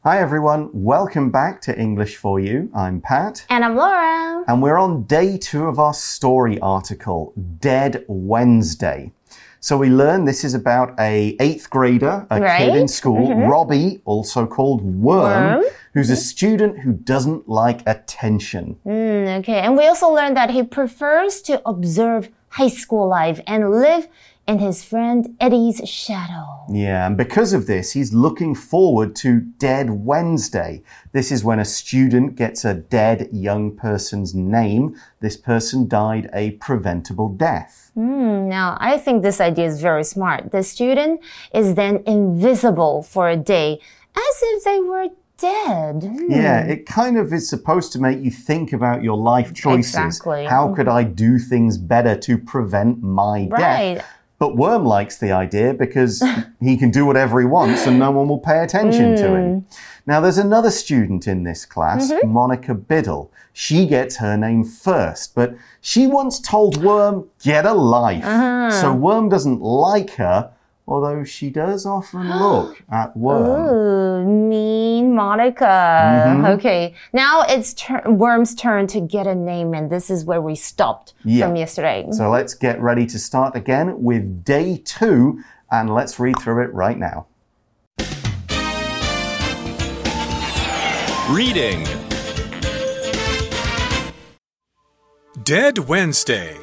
Hi everyone, welcome back to English for You. I'm Pat. And I'm Laura. And we're on day 2 of our story article, Dead Wednesday. So we learned this is about a 8th grader, a kid in school, Robbie, also called Worm, who's a student who doesn't like attention. Okay, and we also learned that he prefers to observe high school life and live in his friend Eddie's shadow. Yeah, and because of this, he's looking forward to Dead Wednesday. This is when a student gets a dead young person's name. This person died a preventable death. Now, I think this idea is very smart. The student is then invisible for a day, as if they were dead. Yeah, it kind of is supposed to make you think about your life choices. Exactly. How could I do things better to prevent my death? But Worm likes the idea because he can do whatever he wants and no one will pay attention to him. Now, there's another student in this class, Monica Biddle. She gets her name first, but she once told Worm, get a life. So Worm doesn't like her, although she does often look at Worm. Ooh, mean Monica. Okay, now it's Worm's turn to get a name, and this is where we stopped from yesterday. So let's get ready to start again with day 2, and let's read through it right now. Reading Dead Wednesday.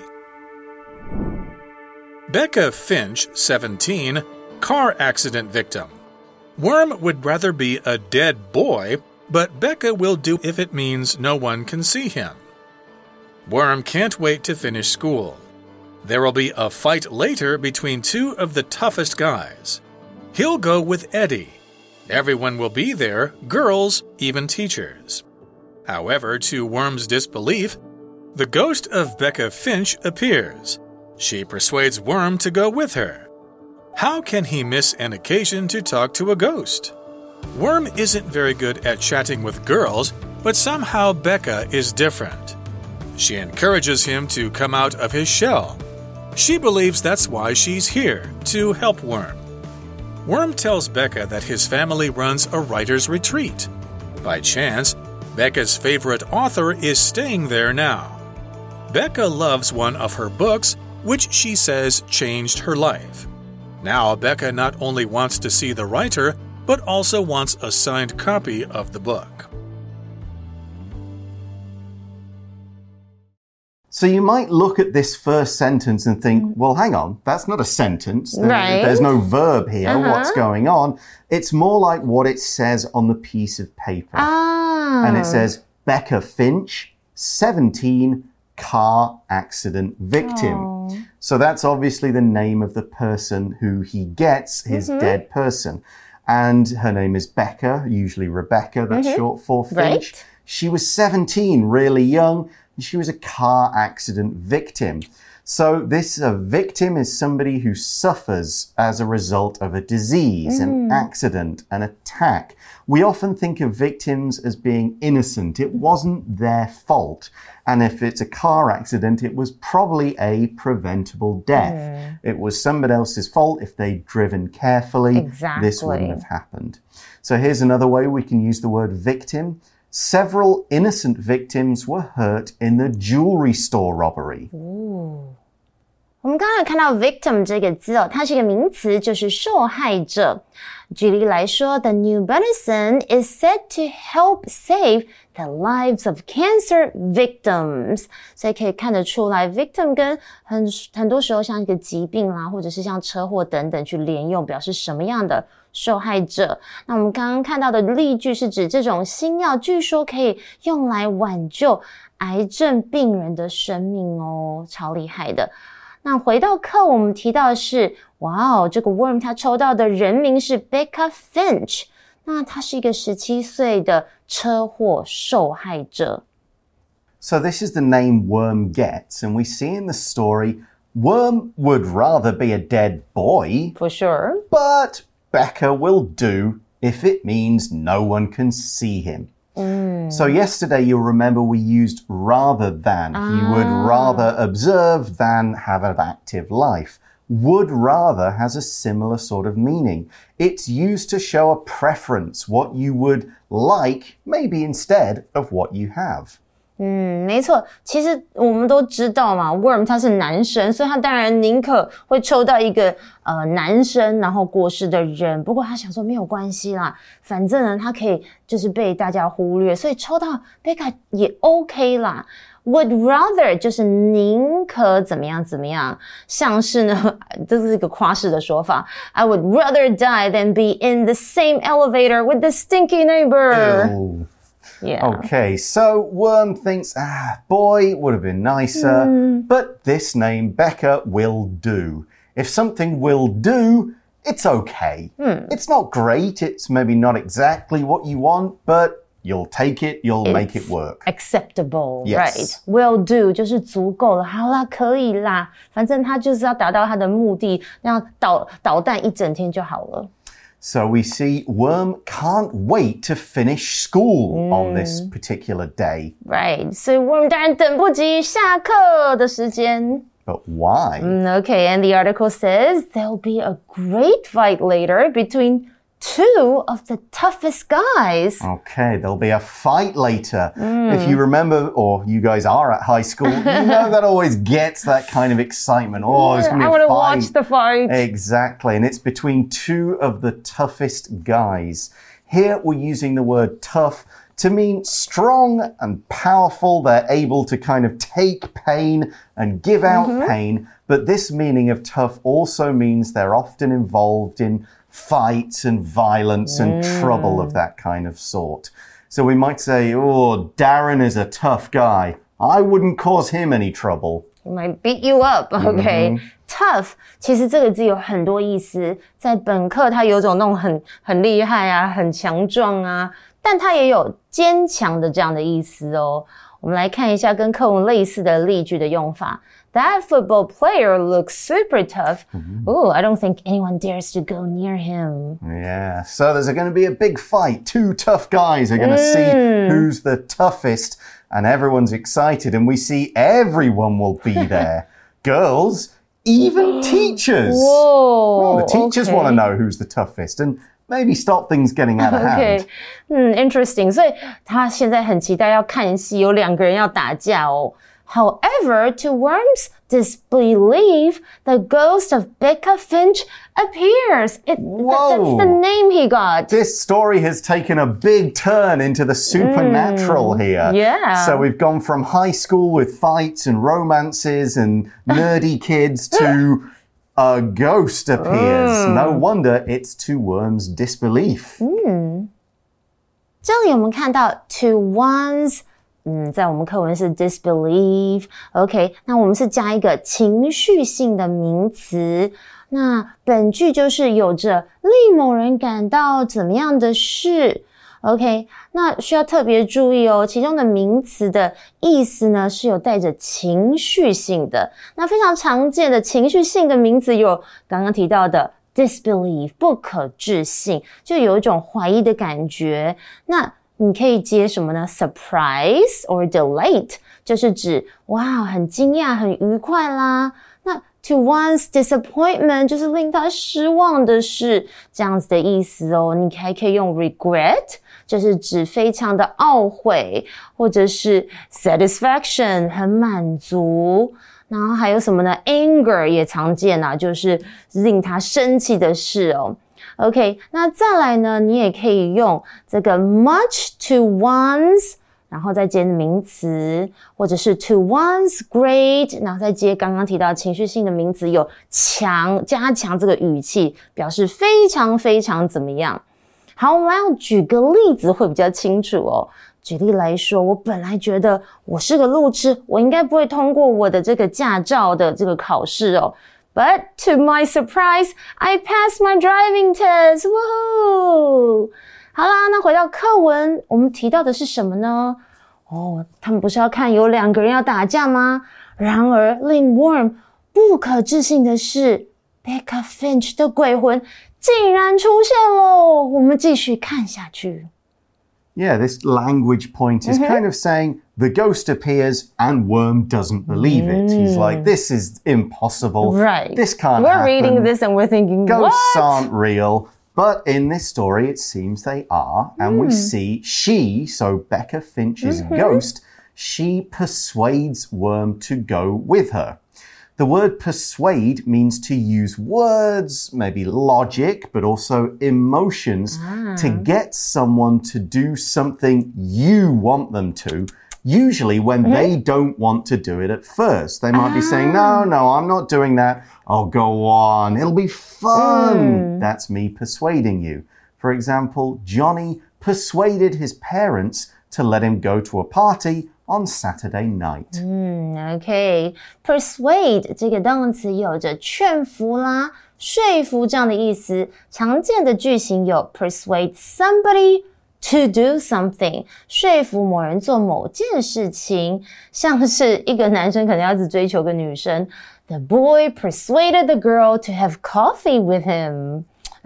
Becca Finch, 17, car accident victim. Worm would rather be a dead boy, but Becca will do if it means no one can see him. Worm can't wait to finish school. There will be a fight later between 2 of the toughest guys. He'll go with Eddie. Everyone will be there, girls, even teachers. However, to Worm's disbelief, the ghost of Becca Finch appears. She persuades Worm to go with her. How can he miss an occasion to talk to a ghost? Worm isn't very good at chatting with girls, but somehow Becca is different. She encourages him to come out of his shell. She believes that's why she's here, to help Worm. Worm tells Becca that his family runs a writer's retreat. By chance, Becca's favorite author is staying there now. Becca loves one of her books, which she says changed her life. Now, Becca not only wants to see the writer, but also wants a signed copy of the book. So you might look at this first sentence and think, well, hang on, that's not a sentence. There's no verb here. What's going on? It's more like what it says on the piece of paper. And it says, Becca Finch, 17, car accident victim. So that's obviously the name of the person who he gets, his dead person. And her name is Becca, usually Rebecca, that's short for Finch. She was 17, really young, and she was a car accident victim. So this victim is somebody who suffers as a result of a disease, an accident, an attack. We often think of victims as being innocent. It wasn't their fault. And if it's a car accident, it was probably a preventable death. It was somebody else's fault. If they'd driven carefully, this wouldn't have happened. So here's another way we can use the word victim. Several innocent victims were hurt in the jewelry store robbery. 我们刚才看到 victim 这个字它是一个名词，就是受害者。举例来说 The new medicine is said to help save the lives of cancer victims. 所以可以看得出来 victim 跟很多时候像一个疾病啦，或者是像车禍等等去连用，表示什麼樣的受害者。那我們剛剛看到的例句是指這種新藥據說可以用來挽救癌症病人的生命哦，超厲害的。那回到課我們提到的是，哇哦，這個 Worm 他抽到的人名是 Becca Finch， 那他是一個17歲的車禍受害者。 So this is the name Worm gets, and we see in the story, Worm would rather be a dead boy. For sure. But Becca will do if it means no one can see him. So yesterday, you'll remember we used rather than. He would rather observe than have an active life. would rather has a similar sort of meaning. It's used to show a preference, what you would like, maybe instead of what you have. 没错，其实我们都知道嘛 Worm 他是男生，所以他当然宁可会抽到一个男生然后过世的人，不过他想说没有关係啦，反正呢他可以就是被大家忽略，所以抽到 Becca 也 OK 啦。Would rather 就是宁可怎麼樣怎麼樣，像是呢這是一個誇飾的說法 I would rather die than be in the same elevator with the stinky neighbor. Yeah. Okay, so Worm thinks, boy would have been nicer, but this name, Becca, will do. If something will do, it's okay. It's not great, it's maybe not exactly what you want, but you'll take it, you'll make it work. Acceptable, yes. Right. Will do 就是足夠了，好啦，可以啦，反正他就是要達到他的目的，讓搗蛋一整天就好了。 So we see Worm can't wait to finish school on this particular day. Right. 所以 Worm 當然等不及下課的時間。 But why? Okay, and the article says there'll be a great fight later between two of the toughest guys. Okay, there'll be a fight later. If you remember, or you guys are at high school, you know that always gets that kind of excitement. Oh, there's going to be a fight. I want to watch the fight. Exactly, and it's between two of the toughest guys. Here we're using the word tough to mean strong and powerful. They're able to kind of take pain and give out pain. But this meaning of tough also means they're often involved in fights and violence and trouble of that kind of sort. So we might say, oh, Darren is a tough guy. I wouldn't cause him any trouble. He might beat you up, okay? Tough, 其實這個字有很多意思。在本課它有種那種很厲害啊，很強壯啊，但它也有堅強的這樣的意思哦。我們來看一下跟課文類似的例句的用法。That football player looks super tough. Ooh, I don't think anyone dares to go near him. Yeah, so there's going to be a big fight. Two tough guys are going to see who's the toughest, and everyone's excited, and we see everyone will be there. Girls, even teachers. Whoa, the teachers want to know who's the toughest, and maybe stop things getting out of hand. Interesting. 所以他現在很期待要看戲，有兩個人要打架哦。However, to Worm's disbelief, the ghost of Becca Finch appears. That's the name he got. This story has taken a big turn into the supernatural here. Yeah. So we've gone from high school with fights and romances and nerdy kids to a ghost appears. No wonder it's to Worm's disbelief. 這裡我們看到 to one's在我們課文是 disbelief. OK, 那我們是加一個情緒性的名詞。那本句就是有着令某人感到怎麼樣的事。OK, 那需要特別注意哦，其中的名詞的意思呢是有帶着情緒性的。那非常常見的情緒性的名詞有剛剛提到的 disbelief, 不可置信，就有一種懷疑的感覺。那你可以接什麼呢？ Surprise or delight 就是指哇很驚訝很愉快啦。那 to one's disappointment 就是令他失望的事，這樣子的意思哦。你還可以用 regret 就是指非常的懊悔，或者是 satisfaction 很滿足。然後還有什麼呢？ Anger 也常見啊，就是令他生氣的事哦。OK, 那再來呢，你也可以用這個 much to one's, 然後再接名詞，或者是 to one's great, 然後再接剛剛提到情緒性的名詞，有加強這個語氣，表示非常非常怎麼樣。好，我們要舉個例子會比較清楚哦。舉例來說，我本來覺得我是個路痴，我應該不會通過我的這個駕照的這個考試哦。But to my surprise, I passed my driving test. Woohoo! 好啦，那回到課文，我們提到的是什麼呢？他們不是要看有兩個人要打架嗎？然而，令 Worm 不可置信的是 ，Becca Finch 的鬼魂竟然出現咯！我們繼續看下去。 Yeah, this language point is kind of saying The ghost appears and Worm doesn't believe it. He's like, this is impossible. Right. This can't happen. We're reading this and we're thinking, ghosts what? aren't real. But in this story, it seems they are. And we see so Becca Finch's ghost, she persuades Worm to go with her. The word persuade means to use words, maybe logic, but also emotions to get someone to do something you want them to, usually when they don't want to do it at first. They might be saying, no, I'm not doing that. Oh, go on. It'll be fun. That's me persuading you. For example, Johnny persuaded his parents to let him go to a party on Saturday night. OK. Persuade 這個動詞有着勸服啦、說服這樣的意思。常見的句型有 persuade somebody to do something, 說服某人做某件事情。像是一個男生可能要一直追求個女生。The boy persuaded the girl to have coffee with him.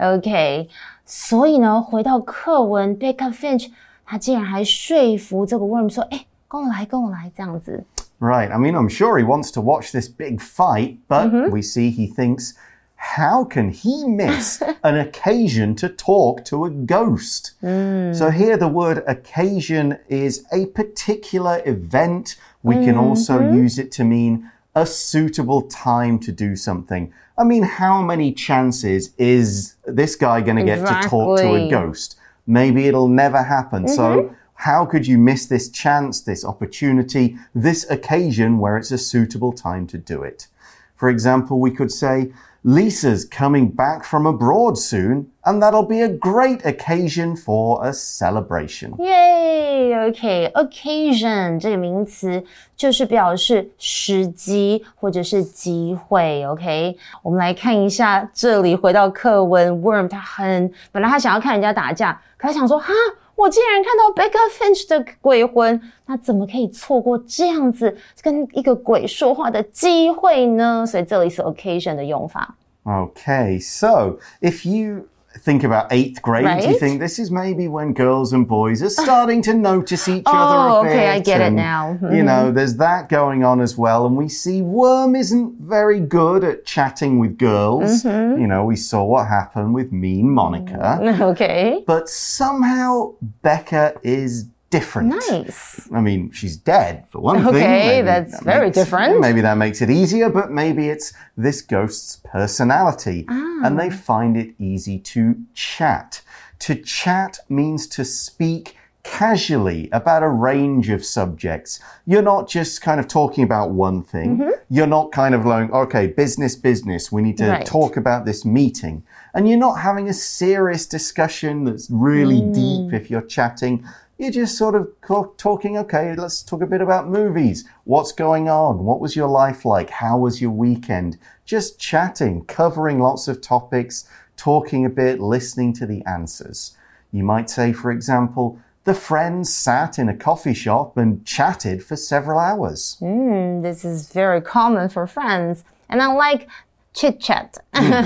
OK. 所以呢，回到課文 Becca Finch 他竟然還說服這個 Worm 說，跟我來這樣子。 Right. I mean, I'm sure he wants to watch this big fight, but we see he thinks, how can he miss an occasion to talk to a ghost? So here the word occasion is a particular event. We can also use it to mean a suitable time to do something. I mean, how many chances is this guy going to get to talk to a ghost? Maybe it'll never happen. So how could you miss this chance, this opportunity, this occasion where it's a suitable time to do it? For example, we could say, Lisa's coming back from abroad soon, and that'll be a great occasion for a celebration. Yay! OK, occasion 這個名詞就是表示時機或者是機會 OK, 我們來看一下這裡回到課文 Worm 本來他想要看人家打架，可他想說我竟然看到 Becca Finch 的鬼魂，那怎麼可以錯過這樣子跟一個鬼說話的機會呢？所以這裡是 occasion 的用法。 Okay, so if you think about 8th grade, you think this is maybe when girls and boys are starting to notice each other a bit. Okay, I get it now. You know, there's that going on as well. And we see Worm isn't very good at chatting with girls. You know, we saw what happened with mean Monica. Okay. But somehow Becca is different. Nice. I mean, she's dead, for one thing. Okay, that's very different. Maybe that makes it easier, but maybe it's this ghost's personality. And they find it easy to chat. To chat means to speak casually about a range of subjects. You're not just kind of talking about one thing. You're not kind of like, okay, business, we need to talk about this meeting. And you're not having a serious discussion that's really deep if you're chatting. You're just sort of talking, okay, let's talk a bit about movies. What's going on? What was your life like? How was your weekend? Just chatting, covering lots of topics, talking a bit, listening to the answers. You might say, for example, the friends sat in a coffee shop and chatted for several hours. This is very common for friends. And I like chit-chat.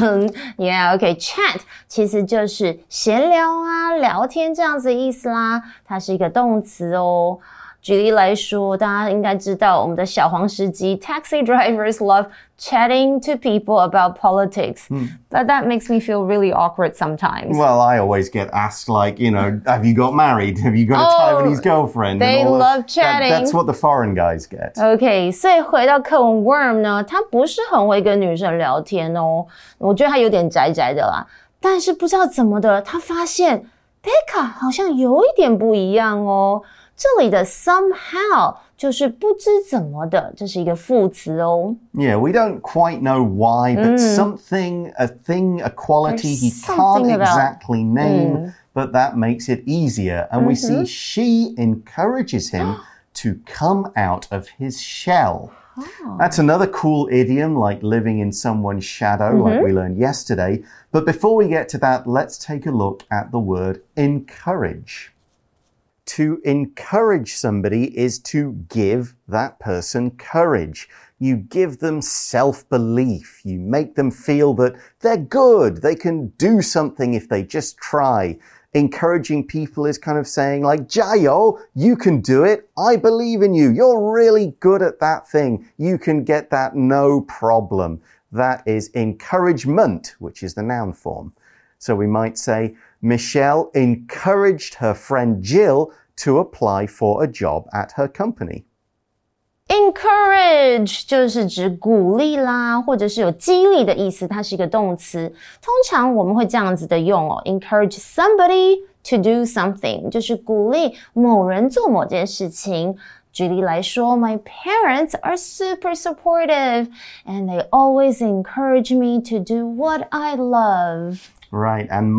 Yeah, okay, chat 其實就是閒聊啊，聊天這樣子的意思啦，它是一個動詞哦。舉例來說，大家應該知道我們的小黃司機 taxi drivers love chatting to people about politics. But that makes me feel really awkward sometimes. Well, I always get asked, like, you know, have you got married? Have you got a Taiwanese girlfriend? They love chatting. That's what the foreign guys get. Okay, 所以回到課文 Worm 呢，他不是很會跟女生聊天哦，我覺得他有點宅宅的啦。但是不知道怎麼的，他發現 Becca 好像有一點不一樣哦。這裡的 somehow 就是不知怎麼的，這是一個副詞哦。 Yeah, we don't quite know why, but something, a thing, a quality he can't exactly name, but that makes it easier. And we see she encourages him to come out of his shell. That's another cool idiom, like living in someone's shadow, like we learned yesterday. But before we get to that, let's take a look at the word encourage. to encourage somebody is to give that person courage. You give them self-belief. You make them feel that they're good. They can do something if they just try. Encouraging people is kind of saying like, 加油, you can do it. I believe in you. You're really good at that thing. You can get that no problem. That is encouragement, which is the noun form. So we might say, Michelle encouraged her friend Jill to apply for a job at her company. Encourage 就是指鼓励啦，或者是有激勵的意思，它是一个动詞。通常我们会這樣子的用哦 ，encourage somebody to do something， 就是鼓勵某人做某件事情。舉例來說 ，My parents are super supportive and they always encourage me to do what I love. Right, and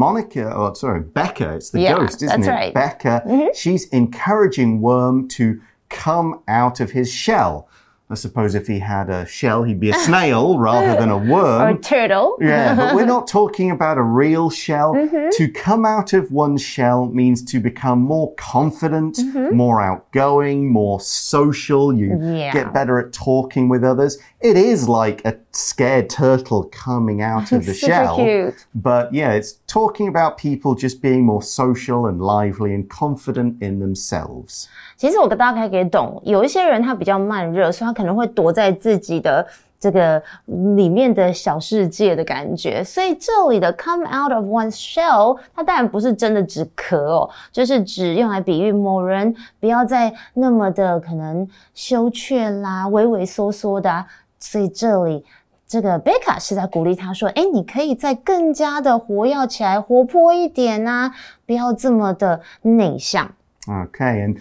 Becca, it's the ghost, isn't that's it? Right. Becca, she's encouraging Worm to come out of his shell. I suppose if he had a shell, he'd be a snail rather than a worm. Or a turtle. Yeah, but we're not talking about a real shell. To come out of one's shell means to become more confident, more outgoing, more social. You get better at talking with others. It is like a scared turtle coming out of the shell. Cute. But yeah, it's talking about people just being more social and lively and confident in themselves. 其實我大概可以懂，有一些人他比较慢熱，所以他可能会躲在自己的这个裡面的小世界的感觉。所以這裡的 come out of one's shell， 它當然不是真的指殼哦，就是指用來比喻某人不要再那麼的可能羞怯啦、畏畏縮縮的啊。所以這裡這個 Becca 是在鼓勵他說，你可以再更加的活躍起來，活潑一點啊，不要這麼的內向。 Okay, and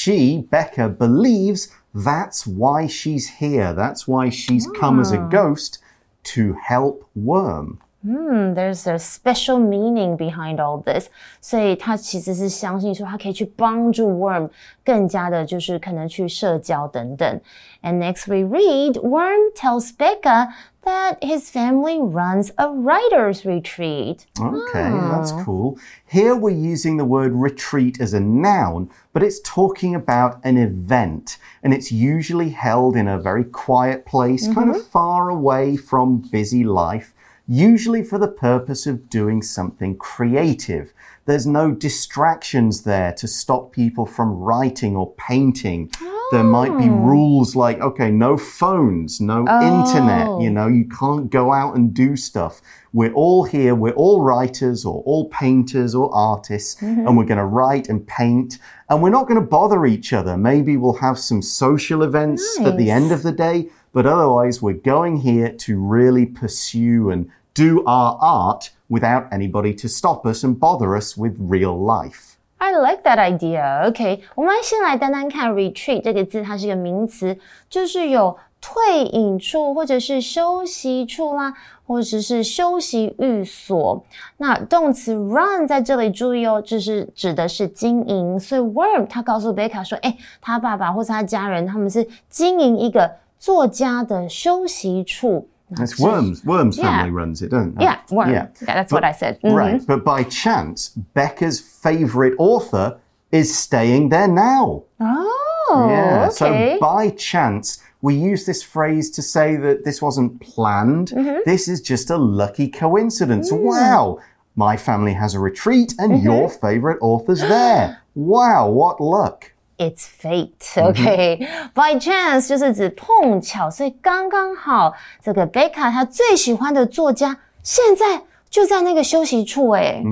Becca, believes that's why she's here. That's why she's come as a ghost to help Worm. There's a special meaning behind all this. 所以他其實是相信說他可以去幫助 Worm 更加的就是可能去社交等等。And next we read, Worm tells Becca that his family runs a writer's retreat. Okay, that's cool. Here we're using the word retreat as a noun, but it's talking about an event, and it's usually held in a very quiet place, kind of far away from busy life, usually for the purpose of doing something creative. There's no distractions there to stop people from writing or painting. There might be rules like, okay, no phones, no internet, you can't go out and do stuff. We're all here, we're all writers or all painters or artists, and we're going to write and paint, and we're not going to bother each other. Maybe we'll have some social events at the end of the day, but otherwise we're going here to really pursue and do our art without anybody to stop us and bother us with real life. I like that idea. Okay, 我們先來單單看 retreat 這個字，它是一個名詞，就是有退隱處或者是休息處啦，或者是休息寓所。那動詞 run 在這裡注意哦，這是指的是經營。所以 Worm 他告訴 Becca 說，他爸爸或是他家人他們是經營一個作家的休息處。 It's Worm's family runs it, don't they? Yeah, Worm. Yeah, that's what I said. Right, but by chance, Becca's favorite author is staying there now. Oh, yeah, okay. So by chance, we use this phrase to say that this wasn't planned. This is just a lucky coincidence. Wow, my family has a retreat and your favorite author's there. Wow, what luck. It's fate, okay? By chance 就是指碰巧，所以刚刚好，這個 Becca 她最喜歡的作家現在就在那個休息處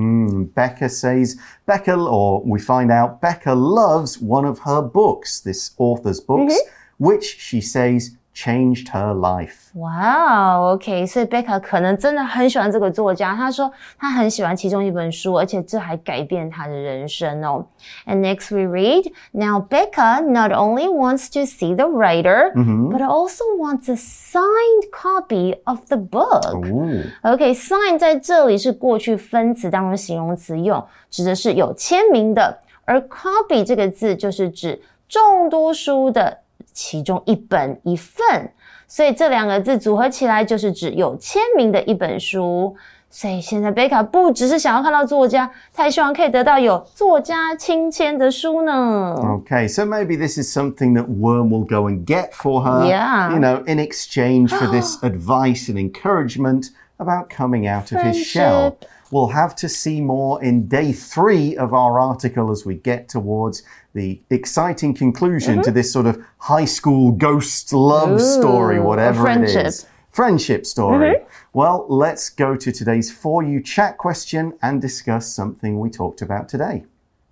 Becca says, or we find out Becca loves one of her books, this author's books, which she says changed her life. Wow, okay. 所以 Becca 可能真的很喜歡這個作家。她說她很喜歡其中一本書，而且這還改變她的人生哦。And next we read, now Becca not only wants to see the writer, but also wants a signed copy of the book. Okay, sign 在這裡是過去分詞當中形容詞用，指的是有簽名的，而 copy 這個字就是指眾多書的其中一本一份，所以這兩個字組合起來就是指有簽名的一本書。 所以现在貝卡不只是想要看到作家，他也希望可以得到有作家親簽的書呢。 Okay, so maybe this is something that Worm will go and get for her, Yeah. you know, in exchange for this advice and encouragement about coming out of his shell. We'll have to see more in day 3 of our article as we get towards the exciting conclusion to this sort of high school ghost love story, whatever it is. Friendship story. Well, let's go to today's For You Chat question and discuss something we talked about today.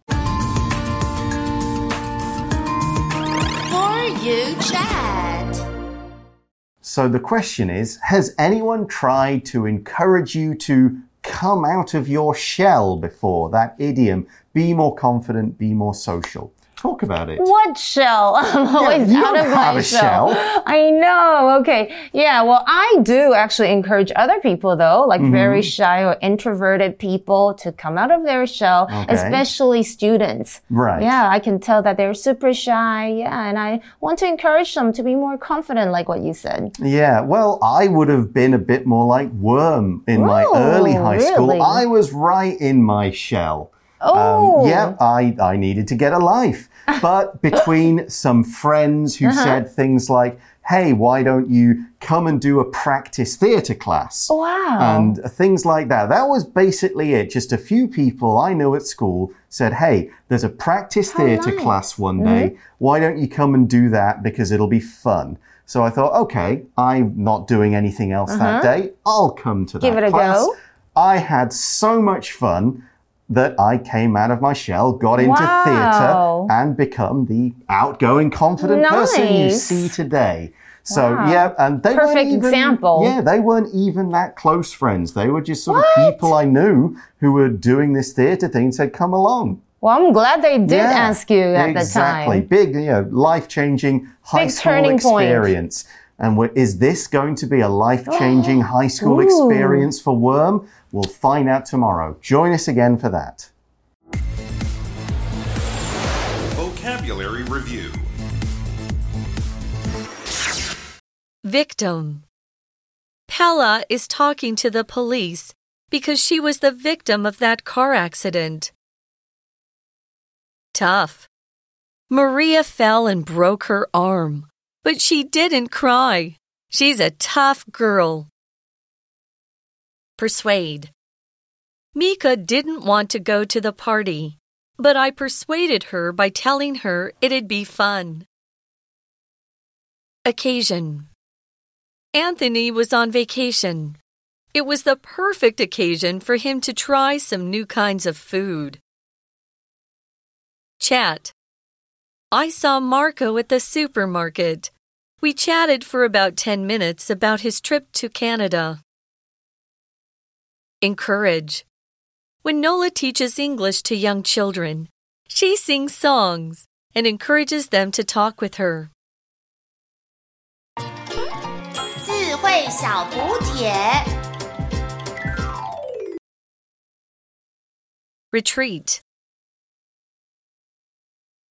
For You Chat. So the question is, has anyone tried to encourage you to come out of your shell before? That idiom, be more confident, be more social. Talk about it. What shell? I'm always out of my shell. I know. Okay. Yeah. Well, I do actually encourage other people though, like very shy or introverted people to come out of their shell, especially students. Right. Yeah. I can tell that they're super shy. Yeah. And I want to encourage them to be more confident, like what you said. Yeah. Well, I would have been a bit more like Worm in my early high school. Really? I was right in my shell. Yeah, I needed to get a life. But between some friends who said things like, hey, why don't you come and do a practice theatre class? Wow. And things like that. That was basically it. Just a few people I knew at school said, hey, there's a practice theatre class one day. Why don't you come and do that because it'll be fun? So I thought, okay, I'm not doing anything else that day. I'll come to that class. Give it a go. I had so much fun that I came out of my shell, got into theatre, and become the outgoing, confident person you see today. So, yeah, and they Perfect weren't even, example. Yeah, they weren't even that close friends. They were just sort of people I knew who were doing this theatre thing and said, come along. Well, I'm glad they did ask you at the time. Exactly. Big, you know, life-changing high school experience. And is this going to be a life-changing high school experience for Worm? We'll find out tomorrow. Join us again for that. Vocabulary Review. Victim. Pella is talking to the police because she was the victim of that car accident. Tough. Maria fell and broke her arm, but she didn't cry. She's a tough girl. Persuade. Mika didn't want to go to the party, but I persuaded her by telling her it'd be fun. Occasion. Anthony was on vacation. It was the perfect occasion for him to try some new kinds of food. Chat. I saw Marco at the supermarket. We chatted for about 10 minutes about his trip to Canada. Encourage. When Nola teaches English to young children, she sings songs and encourages them to talk with her. 智慧小补帖 Retreat.